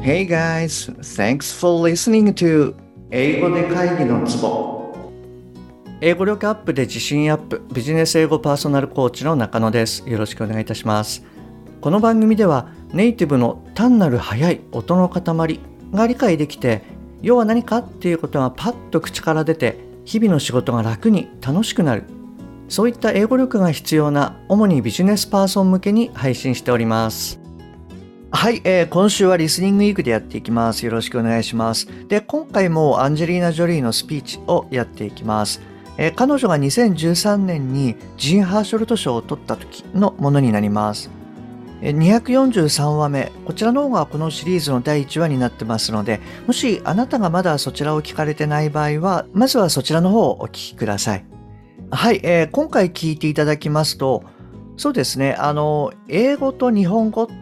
Hey guys, thanks for listening to 英語で会議のツボ。英語力アップで自信アップ、ビジネス英語パーソナルコーチの中野です。よろしくお願いいたします。この番組ではネイティブの単なる速い音の塊が理解できて、要は何かっていうことがパッと口から出て、日々の仕事が楽に楽しくなる。そういった英語力が必要な主にビジネスパーソン向けに配信しております。はい、今週はリスニングウィークでやっていきます。よろしくお願いします。で、今回もアンジェリーナ・ジョリーのスピーチをやっていきます。彼女が2013年にジン・ハーショルト賞を取った時のものになります。243話目、こちらの方がこのシリーズの第1話になってますので、もしあなたがまだそちらを聞かれてない場合は、まずはそちらの方をお聞きください。はい、今回聞いていただきますと、そうですね、英語と日本語って、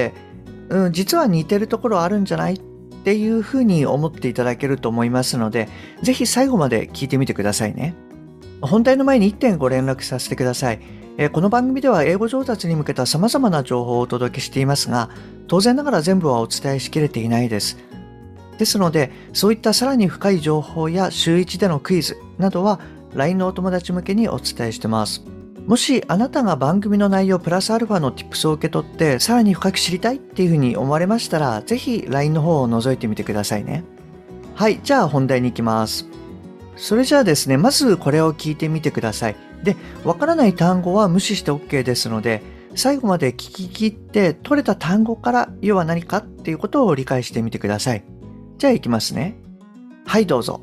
実は似てるところあるんじゃないっていうふうに思っていただけると思いますので、ぜひ最後まで聞いてみてくださいね。本題の前に1点ご連絡させてください。この番組では英語上達に向けた様々な情報をお届けしていますが、当然ながら全部はお伝えしきれていないです。ですので、そういったさらに深い情報や週1でのクイズなどは LINE のお友達向けにお伝えしてます。もしあなたが番組の内容プラスアルファの Tips を受け取ってさらに深く知りたいっていうふうに思われましたら、ぜひ LINE の方を覗いてみてくださいね。はい、じゃあ本題に行きます。それじゃあですね、まずこれを聞いてみてください。で、わからない単語は無視して OK ですので、最後まで聞き切って取れた単語から要は何かっていうことを理解してみてください。じゃあ行きますね。はい、どうぞ。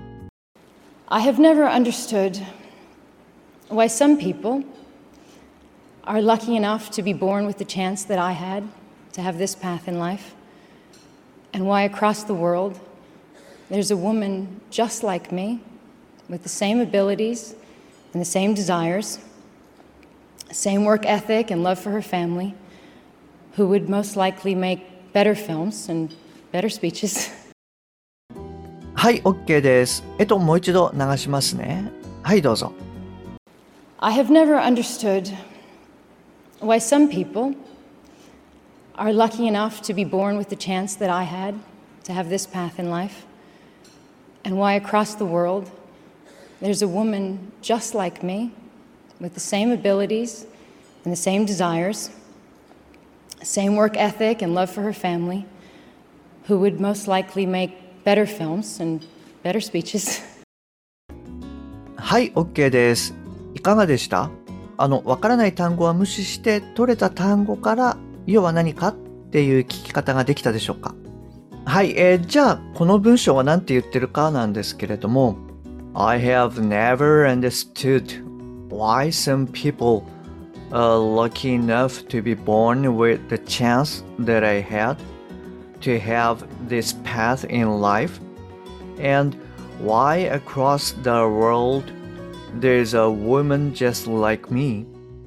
I have never understood why some people are lucky enough to be born with the chance that I had to have this path in life, and why across the world there's a woman just like me with the same abilities and the same desires, same work ethic and love for her family, who would most likely make better films and better speeches. はい、OK です。もう一度流しますね。はい、どうぞ。 I have never understood why some people are lucky enough to be born with the chance that I had to have this path in life, and why across the world there's a woman just like me with the same abilities and the same desires, same work ethic and love for her family, who would most likely make better films and better speeches. はい、OK です。いかがでした？わからない単語は無視して取れた単語から要は何かっていう聞き方ができたでしょうか？はい、じゃあこの文章は何て言ってるかなんですけれども、I have never understood why some people are lucky enough to be born with the chance that I had to have this path in life, and why across the world there's a woman just like me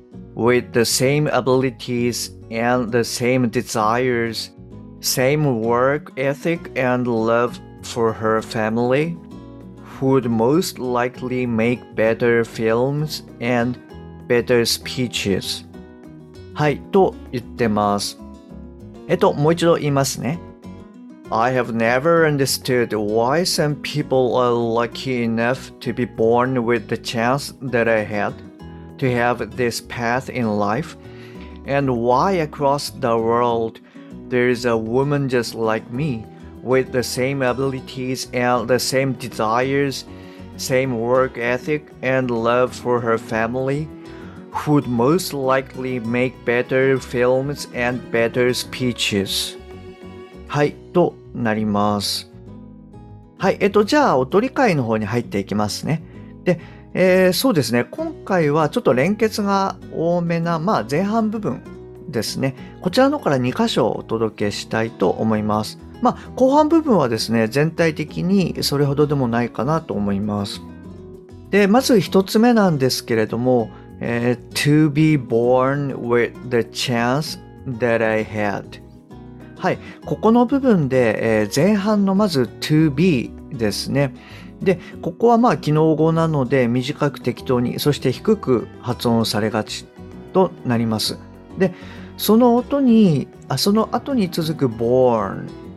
with the same abilities and the same desires, same work ethic and love for her family, who would most likely make better films and better speeches. はい、と言ってます。もう一度言いますね。I have never understood why some people are lucky enough to be born with the chance that I had to have this path in life, and why across the world there is a woman just like me with the same abilities and the same desires, same work ethic and love for her family, who would most likely make better films and better speeches. はい、となります。はい、じゃあお取り替えの方に入っていきますね。で、そうですね、今回はちょっと連結が多めな、前半部分ですね。こちらのから2箇所お届けしたいと思います。後半部分はですね、全体的にそれほどでもないかなと思います。で、まず一つ目なんですけれども、to be born with the chance that I had。はい、ここの部分で、前半のまず to be ですね。で、ここは記号語なので短く適当に、そして低く発音されがちとなります。で、その後に続く born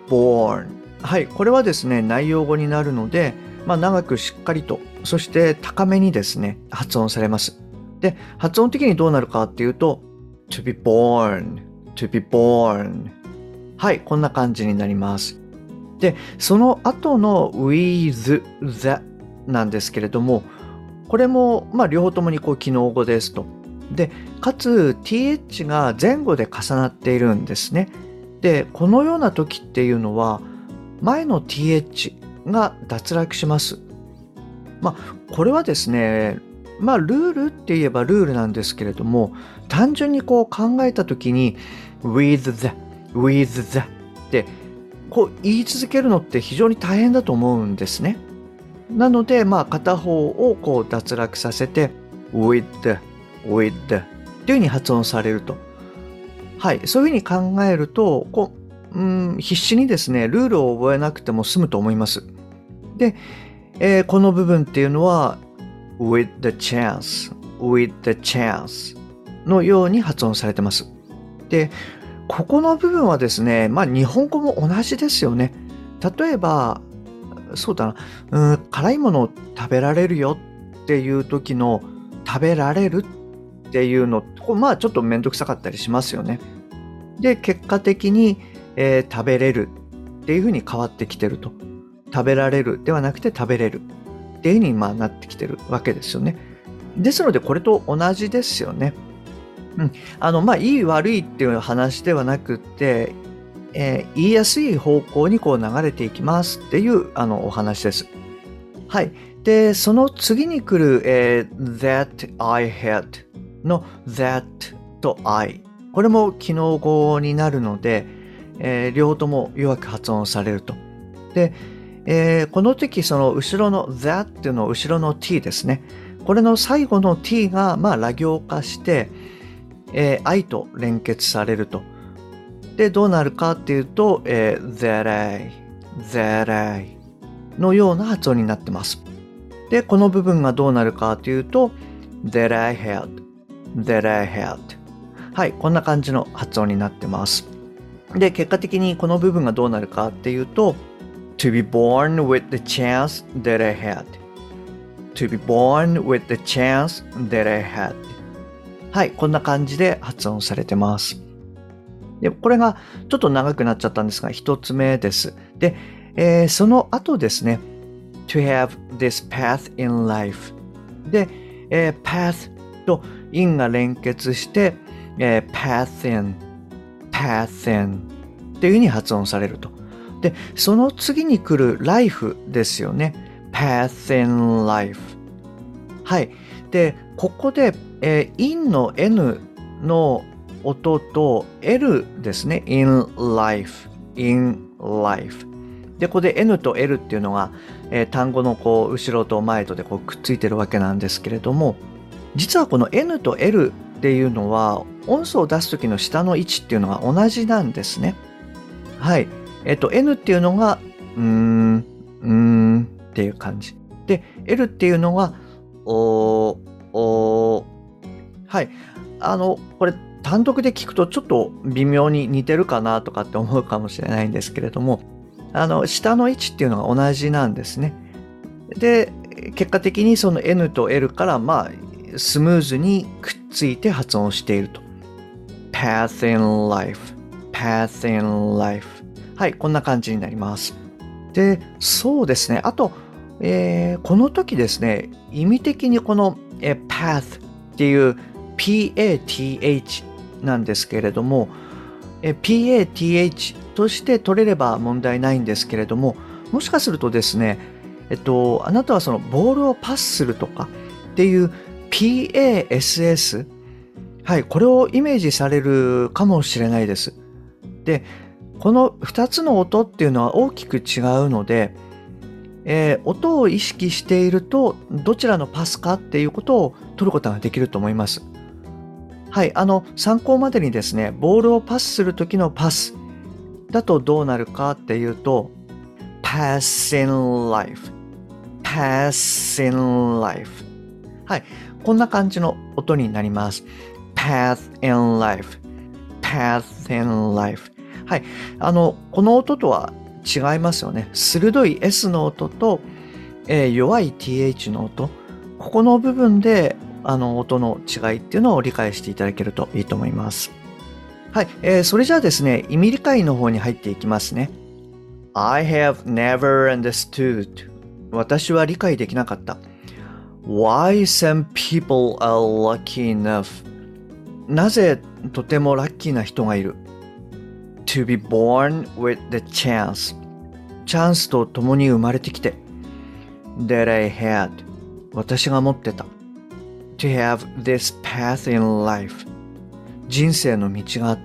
born。はい、これはですね、内容語になるので、長くしっかりと、そして高めにですね、発音されます。で、発音的にどうなるかっていうと、to be born, to be born。はい、こんな感じになります。で、その後の with the なんですけれども、これも、両方ともに機能語ですと。で、かつ th が前後で重なっているんですね。で、このような時っていうのは、前の th が脱落します。これはですね、ルールって言えばルールなんですけれども、単純に考えた時に with the って言い続けるのって非常に大変だと思うんですね。なので、片方を脱落させて withっていうふうに発音されると。はい、そういうふうに考えると、必死にですね、ルールを覚えなくても済むと思います。で、この部分っていうのは with the chance のように発音されてます。で、ここの部分はですね、日本語も同じですよね。例えば、そうだな、辛いものを食べられるよっていう時の食べられるっていうの、ちょっとめんどくさかったりしますよね。で、結果的に、食べれるっていう風に変わってきてると。食べられるではなくて食べれるっていう風になってきてるわけですよね。ですのでこれと同じですよね。いい悪いっていう話ではなくって、言いやすい方向に流れていきますっていうお話です。はい。で、その次に来る、that I had の that と I。これも機能語になるので、両方とも弱く発音されると。で、この時その後ろの that っていうの後ろの t ですね。これの最後の t がラ行化して、I と連結されると。で、どうなるかっていうと、that I のような発音になってます。で、この部分がどうなるかというと、that I had。はい、こんな感じの発音になってます。で、結果的にこの部分がどうなるかっていうと、to be born with the chance that I had。to be born with the chance that I had。はい、こんな感じで発音されてます。で、これがちょっと長くなっちゃったんですが、一つ目です。で、その後ですね、to have this path in life。で、path と in が連結して、path in っていう風に発音されると。で、その次に来る life ですよね。path in life。はい。で、ここで、in の n の音と l ですね。in life。で、ここで n と l っていうのが、単語の後ろと前とでくっついてるわけなんですけれども、実はこの n と l っていうのは音素を出す時の下の位置っていうのが同じなんですね。はい。n っていうのがっていう感じ。で、l っていうのがはい。これ単独で聞くとちょっと微妙に似てるかなとかって思うかもしれないんですけれども、下の位置っていうのが同じなんですね。で、結果的にその N と L からスムーズにくっついて発音していると。path in life。はい、こんな感じになります。で、そうですね。あと、この時ですね、意味的にこの、path っていう PATH なんですけれども、PATH として取れれば問題ないんですけれども、もしかするとですね、あなたはそのボールをパスするとかっていう PASS、はい、これをイメージされるかもしれないです。で、この2つの音っていうのは大きく違うので、音を意識しているとどちらのパスかっていうことを取ることができると思います。はい、参考までにですね、ボールをパスするときのパスだとどうなるかっていうと、pass in life。はい、こんな感じの音になります。path in life。はい、この音とは違いますよね。鋭い S の音と、弱い TH の音。ここの部分で、音の違いっていうのを理解していただけるといいと思います。はい。それじゃあですね、意味理解の方に入っていきますね。I have never understood. 私は理解できなかった。Why some people are lucky enough. なぜとてもラッキーな人がいる。To be born with the chance. チャンスと共に生まれてきて。That I had. 私が持ってた。To have this path in life. 人生の道があって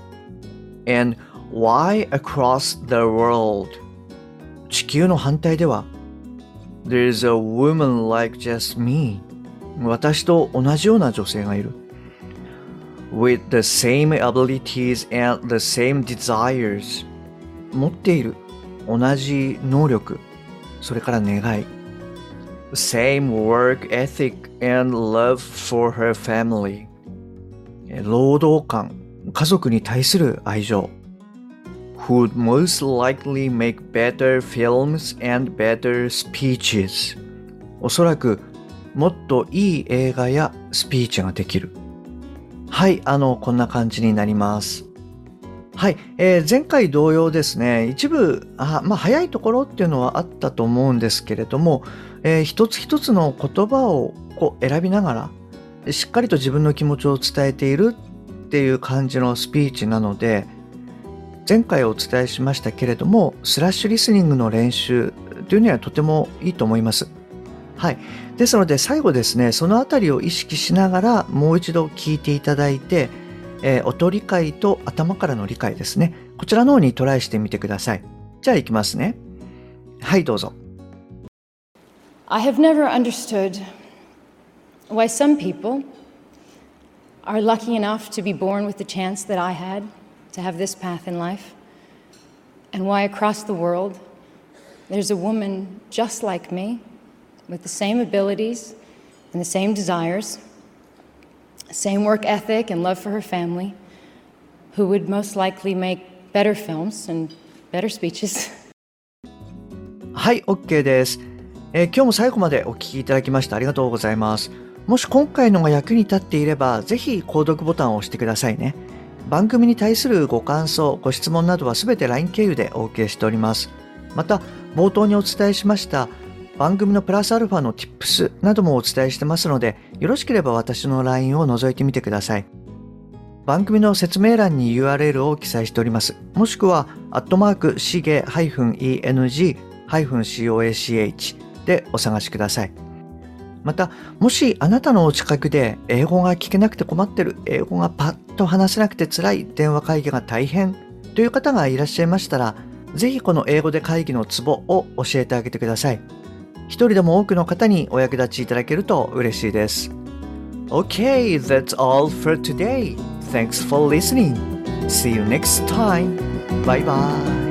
。And why across the world? 地球の反対では There's a woman like just me. 私と同じような女性がいる。With the same abilities and the same desires. 持っている同じ能力、それから願い。Same work ethic and love for her family. 労働観、家族に対する愛情。Who would most likely make better films and better speeches. おそらくもっといい映画やスピーチができる。はい、こんな感じになります。はい、前回同様ですね、一部、早いところっていうのはあったと思うんですけれども、一つ一つの言葉を選びながら、しっかりと自分の気持ちを伝えているっていう感じのスピーチなので、前回お伝えしましたけれども、スラッシュリスニングの練習というにはとてもいいと思います。はい。ですので最後ですね、そのあたりを意識しながらもう一度聞いていただいて、音理解と頭からの理解ですね。こちらの方にトライしてみてください。じゃあ行きますね。はい、どうぞ。 I have never understood why some people are lucky enough to be born with the chance that I had to have this path in life, and why across the world there's a woman just like me with the same abilities and the same desires, same work ethic and love for her family, who would most likely make better films and better speeches. はい、OK です。今日も最後までお聞きいただきましてありがとうございます。もし今回のが役に立っていれば、ぜひ購読ボタンを押してくださいね。番組に対するご感想、ご質問などはすべて LINE 経由でお受けしております。また、冒頭にお伝えしました番組のプラスアルファの Tips などもお伝えしてますので、よろしければ私の LINE を覗いてみてください。番組の説明欄に URL を記載しております。もしくは、@shige-eng-coach でお探しください。また、もしあなたのお近くで英語が聞けなくて困ってる、英語がパッと話せなくて辛い、電話会議が大変という方がいらっしゃいましたら、ぜひこの英語で会議のツボを教えてあげてください。一人でも多くの方にお役立ちいただけると嬉しいです。Okay, that's all for today. Thanks for listening. See you next time. Bye bye.